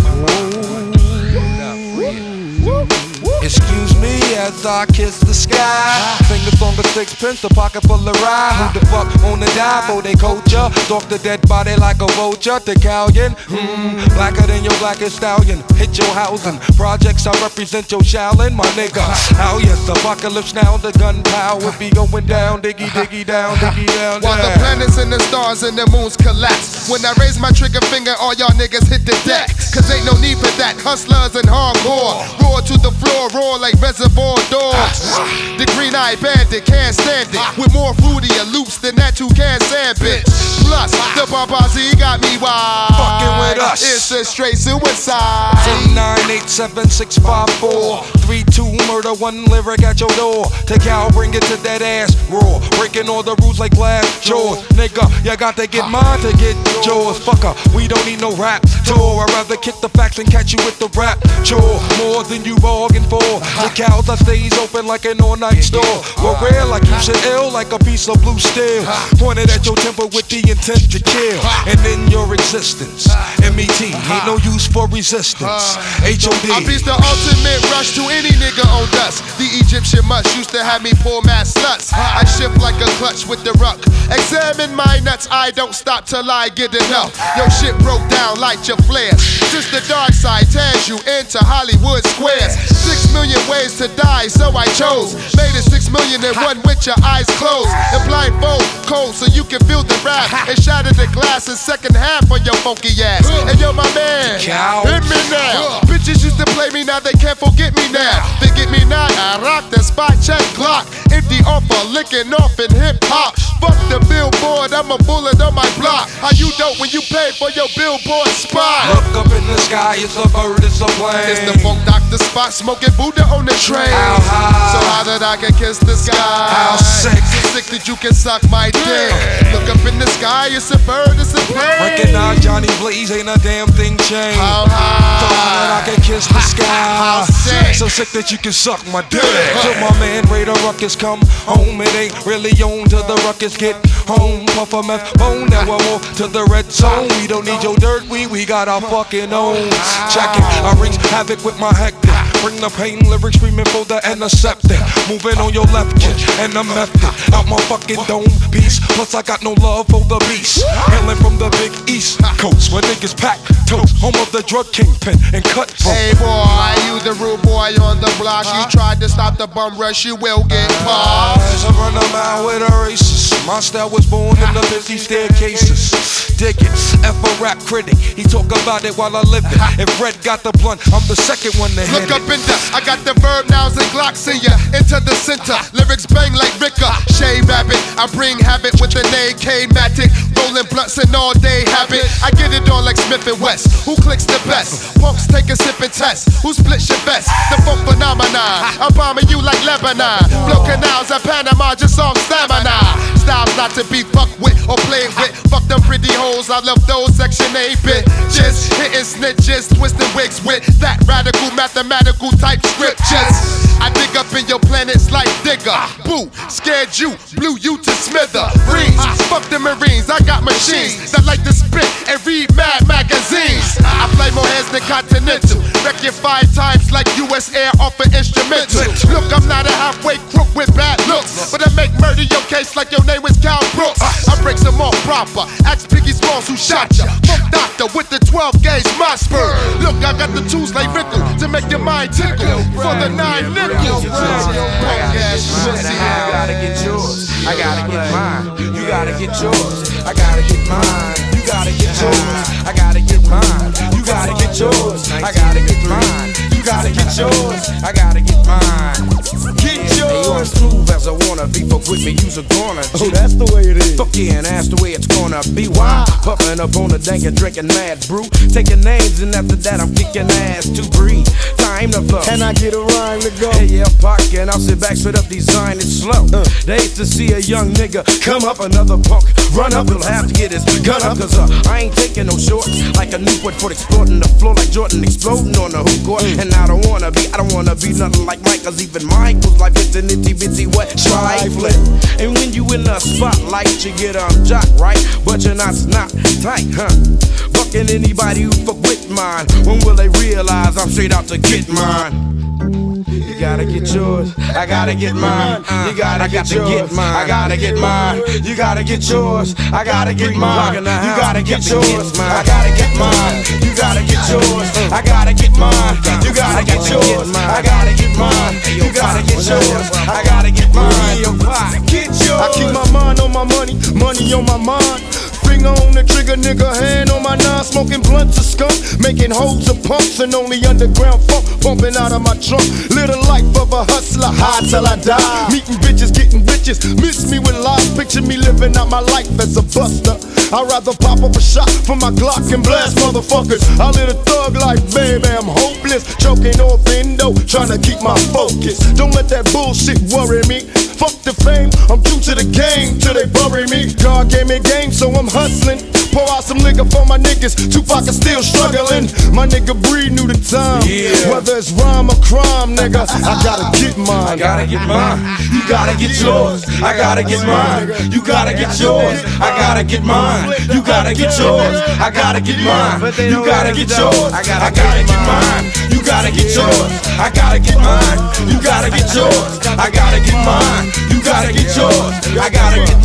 Excuse me as I kiss the sky. Fingers on the sixpence, a pocket full of rye. Who the fuck wanna die for they culture? Stalk the dead body like a vulture. The galleon, hmm, blacker than your blackest stallion. Hit your housing. Projects, I represent your Shaolin, my nigga. How yes, apocalypse now, the gunpowder be going down, diggy, diggy, down, diggy, down, down. While the planets and the stars and the moons collapse. When I raise my trigger finger, all y'all niggas hit the deck. Cause ain't no need for that. Hustlers and hardcore. Roar to the floor, roar like reservoir dogs. The green-eyed bandit can't stand it. With more fruitier loops than that you can stand, bitch. Plus, the Babazi got me wild. Fucking with us. It's a straight suicide. Ten, nine, eight, seven, six, five, four, three, two, murder, one lyric at your door. Take out, bring it to that ass raw. Breaking all the rules like glass jaws. Nigga, you got to get mine to get yours. Fucker, we don't need no rap tour. I'd rather kick the facts and catch you with the rap chore. More than you bargained for. The cows I stays open like an all-night store. We're rare like you should ill like a piece of blue steel. Pointed at your temple with the intent to kill. And in your existence, M E T ain't no use for resistance. H O D. I beat the ultimate rush to any nigga on dust. The Egyptian mush used to have me pull mad sluts. I shift like a clutch with the ruck. Examine my nuts, I don't stop till I get enough. Yo, shit broke down, light your flares. Since the dark side tears you into Hollywood squares. Six million ways to die, so I chose. Made it six million and one with your eyes closed. And blindfold, cold, so you can feel the rap. And shatter the glass in second half on your funky ass. And yo, my man, hit me now. Bitches used to play me, now they can't forget me now. They get me now, I rock the spot, check Glock. Empty offer, licking off in hip hop. Fuck the billboard, I'm a bullet on my block. How you dope when you pay for your billboard spot? Look up in the sky, it's a bird, it's a plane. It's the funk doctor spot, smoking Buddha on the train. How high? So how that I can kiss the sky? How sick? So sick that you can suck my dick. Look up in the sky, it's a bird, it's a plane. Recognize Johnny Blaze, ain't a damn thing changed. How high? So how that I can kiss the sky? How sick? So sick that you can suck my dick. Till my man Raider Ruckus come home, it ain't really on till the ruckus get home. Puff a meth bone, now I walk to the red zone. We don't need your dirt, we we got our fucking own. Check it, I wreak havoc with my hectic. Bring the pain lyrics screaming for the antiseptic. Moving on your left kid and the method out my fucking dome piece. Plus I got no love for the beast. Hailing from the big east coast where niggas pack toast. Home of the drug kingpin and cut throat. Hey boy, you the rude boy on the block. You tried to stop the bum rush, you will get popped. I run a mile with a racist. My style was born in the busy staircases. dig it. F a rap critic, he talk about it while I live it. If Red got the blunt, I'm the second one to hit Look it. up in the, I got the verb nouns and glocks in ya. Into the center, lyrics bang like Ricker. Shay Rabbit, I bring habit with the name K-Matic. Rolling blunts and all day habit. I get it on like Smith and West. Who clicks the best? Punks take a sip and test. Who splits your best? The funk phenomenon. I'm bombing you like Lebanon. Blow canals at Panama, just on stamina. Styles not to be fucked with or played with. Fuck them pretty hoes, I love those section eight bitches. Hitting snitches, twisting wigs with that radical mathematical type scriptures. I dig up in your planets like Digger. Boo, scared you, blew you to smithereens. Fuck the Marines, I got machines that like to spit and read mad magazines. I play more heads than Continental. Wreck you five times like U S Air off an instrumental. Look, I'm not a halfway crook with bad looks, but I make murder your case like your name was Cal Brooks. I break some off proper. Ask Biggie Smalls who shot ya. Fuck doctor with the twelve gauge my spur. Look, I got the tools like Rickle to make your mind tickle for the nine nickels. I gotta get yours. I gotta get mine. You gotta get yours. I gotta get mine. You gotta get yours. I gotta get mine. You gotta get yours. I gotta get mine. You gotta get yours. I gotta get mine. Get yours. Hey, you as smooth as I wanna be. Fuck with me, you's a goner. Oh, that's the way it is. Fuck yeah, and that's the way it's gonna be. Why? Puffin' up on the dank and drinking mad brew. Taking names and after that I'm kicking ass to breathe. Time to flow. Can I get a rhyme to go? Hey, yeah, pocket, and I'll sit back, straight up, design it slow. Uh. They used to see a young nigga come up, another punk run up. He'll have to get his gun up, cause uh, I ain't taking no shorts. Like a Newport for exploding the floor, like Jordan exploding on the hoop court. Mm. And I don't wanna be, I don't wanna be nothing like Mike, cause even Mike was like it's an itty bitty what trifling. And when you in the spotlight, you get um jock right, but you're not snot tight, huh? Fucking anybody who fuck with mine. When will they realize I'm straight out to get mine? You gotta get yours, I gotta get mine. You gotta get yours, I gotta get mine. You gotta get yours, I gotta get mine. You gotta get yours, I gotta get mine. You gotta get yours, I gotta get mine. You gotta get yours, I gotta get mine. You gotta get yours, I gotta get mine. Get yours. I keep my mind on my money, money on my mind. Finger on the trigger, nigga, hand on my nine. Smoking blunts of skunk, making holes of pumps and only underground funk bumping out of my trunk. Live the life of a hustler, high till I die. Meeting bitches, getting bitches, miss me with lies. Picture me living out my life as a buster. I'd rather pop up a shot for my Glock and blast motherfuckers. I live a thug life, baby, I'm hopeless. Choking off endo, trying to keep my focus. Don't let that bullshit worry me. Fuck the fame, I'm true to the game till they bury me. God gave me game, so I'm hustling. Pour out some liquor for my niggas. Tupac is still struggling. My nigga Breed knew the time. Yeah. Whether it's rhyme or crime, nigga, I gotta get mine. I gotta get mine. You gotta get yours. I gotta get mine. You gotta get yours. I gotta get mine. You gotta get yours. I gotta get mine. You gotta get yours. I gotta get mine. You gotta get yours. I gotta get mine. You gotta get yours. I gotta get mine. You gotta get yours. I gotta get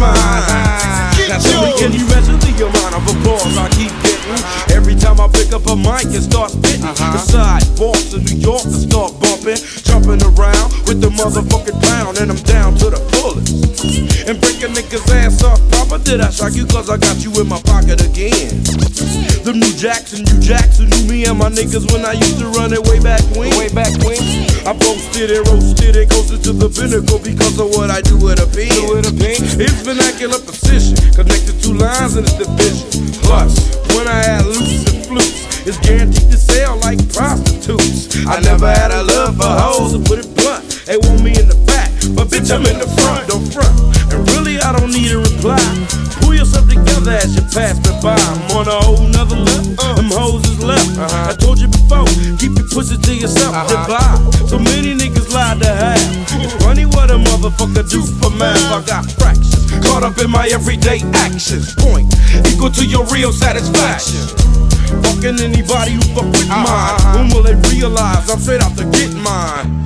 mine. Get yours. Can you measure the amount of applause I keep getting every time I pick up a mic and start spitting? Uh-huh. The sidewalks of New York and start bumping, jumping around with the motherfucking pound, and I'm down to the fullest. And break a nigga's ass off proper. Did I shock you? Cause I got you in my pocket again. The new Jackson, you Jackson knew me and my niggas when I used to run it way back when. Way back when. I boasted and roasted it closer to the pinnacle because of what I do with a pen. Do with a pen. It's vernacular precision, connected two lines in its division. Plus, when I had loose and flutes, it's guaranteed to sell like prostitutes. I never had a love for hoes, to put it blunt. They want me in the back, but bitch I'm in the front, don't front. And really I don't need a reply. Pull yourself together as you pass me by. I'm on a whole nother level, uh, them hoes is left. Uh-huh. I told you before, keep your pussy to yourself, uh-huh. Goodbye. So many niggas lied to have. It's funny what a motherfucker do for math. I got fractions, caught up in my everyday actions. Point, equal to your real satisfaction. Fucking anybody who fuck with uh-huh. mine. When will they realize I'm straight out to get mine?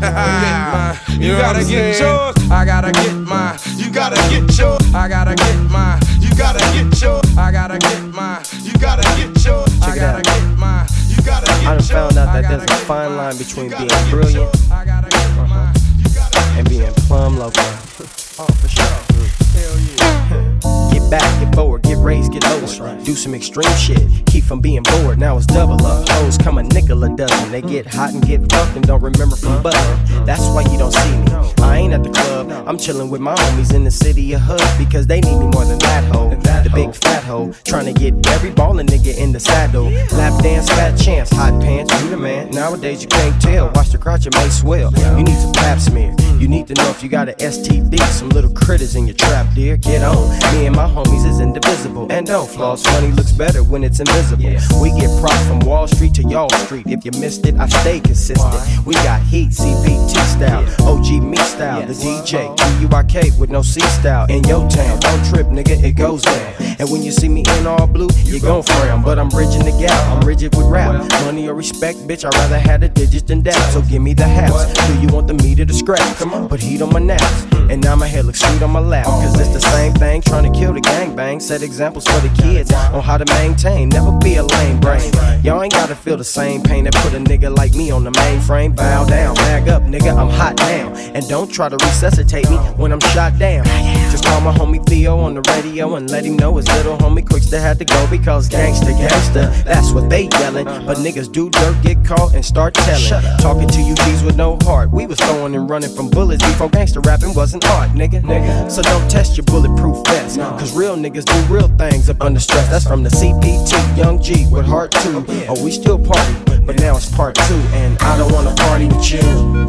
You gotta get yours, I gotta get mine. You gotta get yours, I gotta get mine. You gotta get yours, I gotta get mine. You gotta get yours, I gotta get mine. You gotta get yours. I done found out that there's a fine line between being brilliant uh-huh. and being plumb loco. Oh, for sure. Hell yeah. Get back, get forward, get get raised, get lost. Do some extreme shit, keep from being bored. Now it's double up. Hoes come a nickel a dozen. They get hot and get fucked and don't remember from buzzing. That's why you don't see me. I ain't at the club. I'm chilling with my homies in the city of Hood because they need me more than that hoe. The big fat hoe trying to get every ballin' nigga in the saddle. Lap dance, fat chance, hot pants, you the man. Nowadays you can't tell. Watch the crotch, it may swell. You need some pap smear. You need to know if you got an S T D. Some little critters in your trap, dear. Get on. Me and my homies is indivisible. And don't floss. Money looks better when it's invisible. We get props from Wall Street to Y'all Street. If you missed it, I stay consistent. We got heat, C P T style, O G me style, the D J, Q U I K with no C style. In your town, don't trip, nigga, it goes down. And when you see me in all blue, you gon' frown. But I'm bridging the gap, I'm rigid with rap. Money or respect, bitch, I'd rather have the digits than that. So give me the haps. Do you want the meat or the scrap? Come on, put heat on my naps. And now my hair looks sweet on my lap. Cause it's the same thing, trying to kill the gangbang. Set examples for the kids on how to maintain. Never be a lame brain. Y'all ain't gotta feel the same pain that put a nigga like me on the mainframe. Bow down, bag up, nigga, I'm hot now. And don't try to resuscitate me when I'm shot down. Just call my homie Theo on the radio and let him know his little homie Quickster had to go because gangsta, gangsta, that's what they yelling. But niggas do dirt, get caught and start telling. Talking to you G's with no heart. We was throwing and running from bullets before gangsta rapping wasn't art, nigga. nigga. So don't test your bulletproof vest, cause real niggas do real things up under stress. That's from the C P T, Young G with Heart two. Oh, we still party, but now it's part two. And I don't wanna party with you.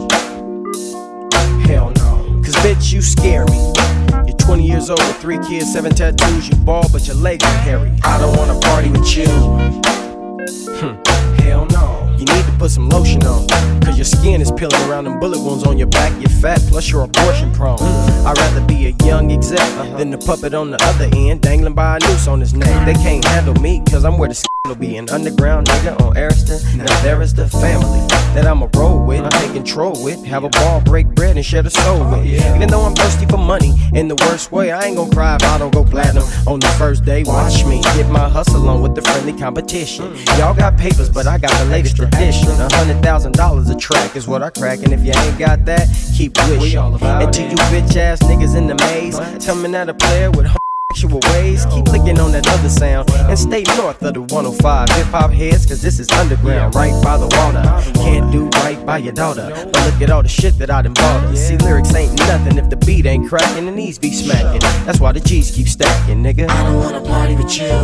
Hell no, cause bitch, you scare me. You're twenty years old with three kids, seven tattoos. You bald, but your legs are hairy. I don't wanna party with you. Hmm. Hell no. You need to put some lotion on, cause your skin is peeling around them bullet wounds on your back. You're fat, plus you're abortion prone. I'd rather be a young exec than the puppet on the other end, dangling by a noose on his neck. They can't handle me, cause I'm where the will be an underground nigga on Ariston. Now there is the family that I'ma roll with, take control with, have a ball, break bread, and share the soul with. Even though I'm thirsty for money in the worst way, I ain't gon' cry if I don't go platinum on the first day. Watch me get my hustle on with the friendly competition. Y'all got papers, but I got the latest tradition. A hundred thousand dollars a track is what I crack, and if you ain't got that, keep wishing. And to you bitch ass niggas in the maze, tell me that a player with sexual ways, keep licking on that other sound and stay north of the one oh five. Hip hop heads, cause this is underground, right by the water. Can't do right by your daughter, but look at all the shit that I done bought her. See, lyrics ain't nothing if the beat ain't cracking and these be smacking. That's why the G's keep stacking, nigga. I don't wanna party with you.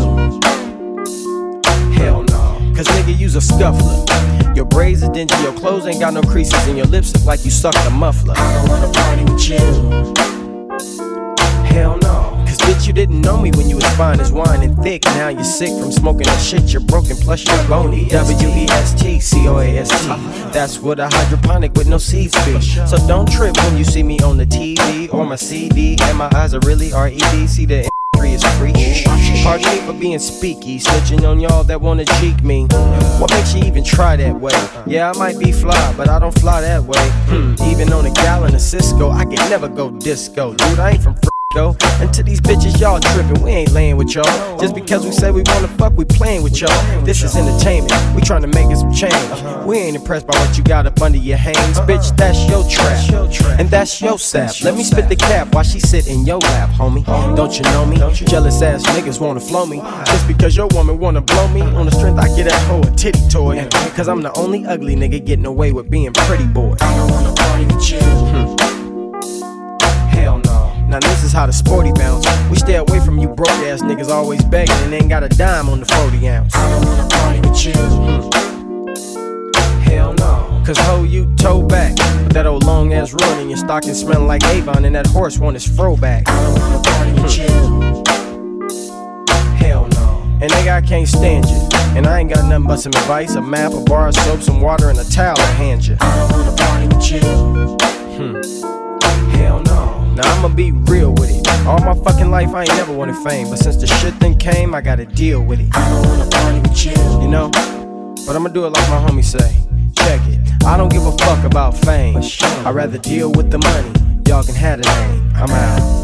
Hell no, cause nigga, you's a scuffler. Your braids are dingy, your clothes ain't got no creases, and your lips look like you sucked a muffler. I don't wanna party with you. Hell no. Cause bitch, you didn't know me when you was fine as wine and thick. Now you're sick from smoking that shit, you're broken, plus you're bony. W E S T C O A S T. That's what a hydroponic with no seeds be. So don't trip when you see me on the T V or my C D. And my eyes are really R E D. See, the industry is free. Pardon me for being speaky, snitching on y'all that wanna cheek me. What makes you even try that way? Yeah, I might be fly, but I don't fly that way. Hmm. Even on a gallon of Cisco, I can never go disco. Dude, I ain't from Go. And to these bitches, y'all trippin', we ain't laying with y'all. Just because we say we wanna fuck, we playin' with y'all. This is entertainment, we tryna make it some change. We ain't impressed by what you got up under your hands. Bitch, that's your trap, and that's your sap. Let me spit the cap while she sit in your lap, homie. Don't you know me? Jealous ass niggas wanna flow me. Just because your woman wanna blow me. On the strength I get that hoe a titty toy. Cause I'm the only ugly nigga getting away with being pretty boy. I don't wanna party with you. Hmm. Hell no. Now this is how the sporty bounce. We stay away from you broke ass niggas always begging and ain't got a dime on the forty ounce. I don't wanna party with you. Hmm. Hell no. Cause ho, you toe back with that old long ass run and your stocking smelling like Avon and that horse want his fro back. I don't wanna party with you. Hell no. And nigga, I can't stand you. And I ain't got nothing but some advice, a map, a bar of soap, some water, and a towel to hand you. I don't wanna party with you. Hmm. Hell no. Now I'ma be real with it. All my fucking life I ain't never wanted fame, but since the shit then came, I gotta deal with it. I don't wanna party with you, you know. But I'ma do it like my homie say. Check it. I don't give a fuck about fame. I'd rather deal with the money. Y'all can have the name. I'm out.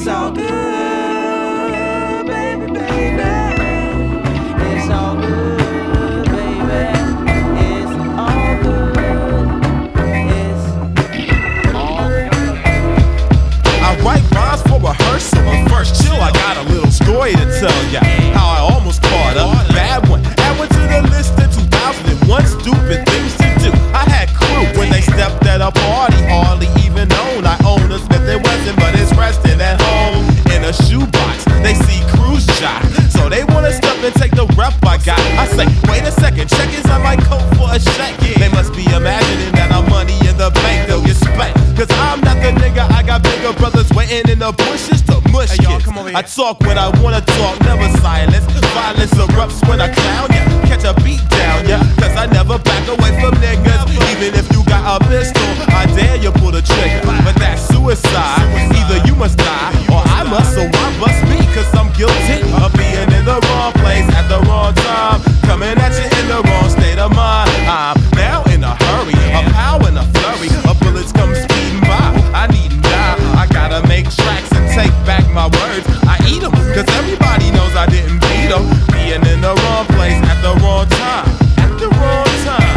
It's all good, baby, baby. It's all good, baby. It's all good. It's all good. I write rhymes for rehearsal, but first chill, I got a little story to tell ya. How I almost caught a bad one. Add one to the list of two thousand one stupid things to do. I had crew when they stepped at a party, hardly even known. I own a Smith and Wesson, but it's resting at home in a shoebox. They see cruise shot, so they wanna step and take the rep I got. I say, wait a second, check is on my coat for a check. They must be imagining that I'm money in the bank, they'll get spanked. Cause I'm not the nigga, I got bigger brothers waiting in the bushes to mush hey, kids. I talk when I wanna talk, never silence. Violence erupts when I clown ya, catch a beat down ya. Cause I never back away from niggas. Even if you got a pistol, I dare you pull the trigger. But that's suicide, either you must die or I must, so I must be. Cause I'm guilty of being in the wrong place at the wrong time, coming at you in the wrong state of mind. I'm now in a hurry, a power and a flurry, a bullets come speeding by. I need now, I gotta make tracks and take back my words. I eat them, cause everybody knows I didn't beat them. Being in the wrong place at the wrong time, at the wrong time.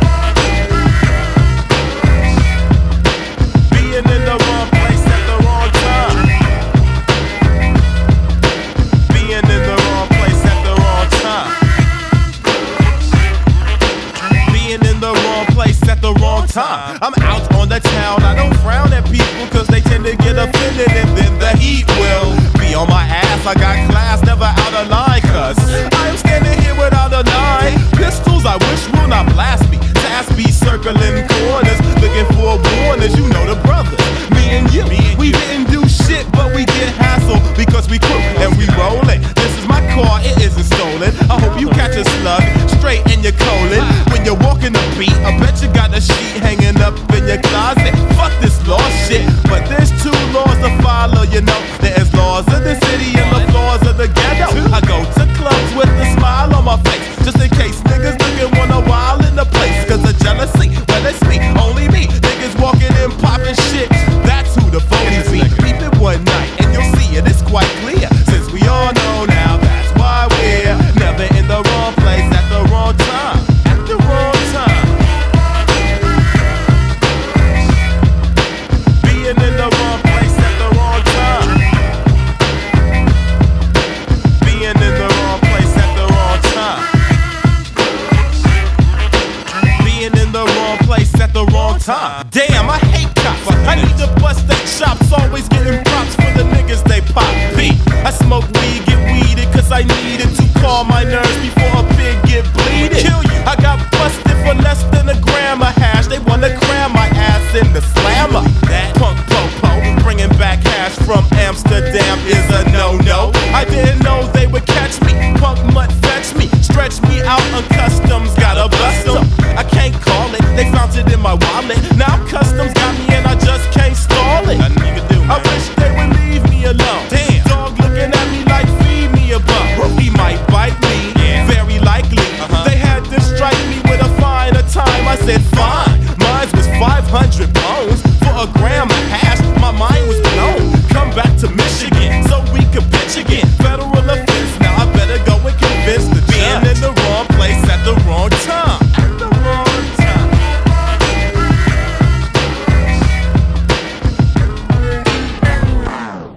Being in the wrong place at the wrong time. Being in the wrong place at the wrong time. Being in the wrong place at the wrong time. I'm out on the town, I don't frown at people cause they tend to get offended and then the heat will be on my ass. I got class, never out of line cause I am standing here without a nine. Pistols I wish will not blast me. Task be circling corners, looking for warners. You know the brothers, me and you. We didn't do shit but we get hassled because we crew and we rollin'. This is my car, it isn't stolen. I hope you catch a slug straight in your colon. When you're walking the beat, I bet you got a sheet hanging up in your closet. Fuck this law shit, but there's two laws to follow, you know. There's laws of the city and the laws of the ghetto. I go to clubs with a smile on my face, just in case niggas looking wanna wild in the place. Cause of jealousy, well it's me, only me. Niggas walking in popping shit, that's who the phonies be. Keep it one night and you'll see it, it's quite clear. Since we all know now, that's why we're never in the wrong place at the wrong time. At the wrong time. Being in the wrong place at the wrong time. Being in the wrong place at the wrong time. Being in the wrong place at the wrong time. Damn.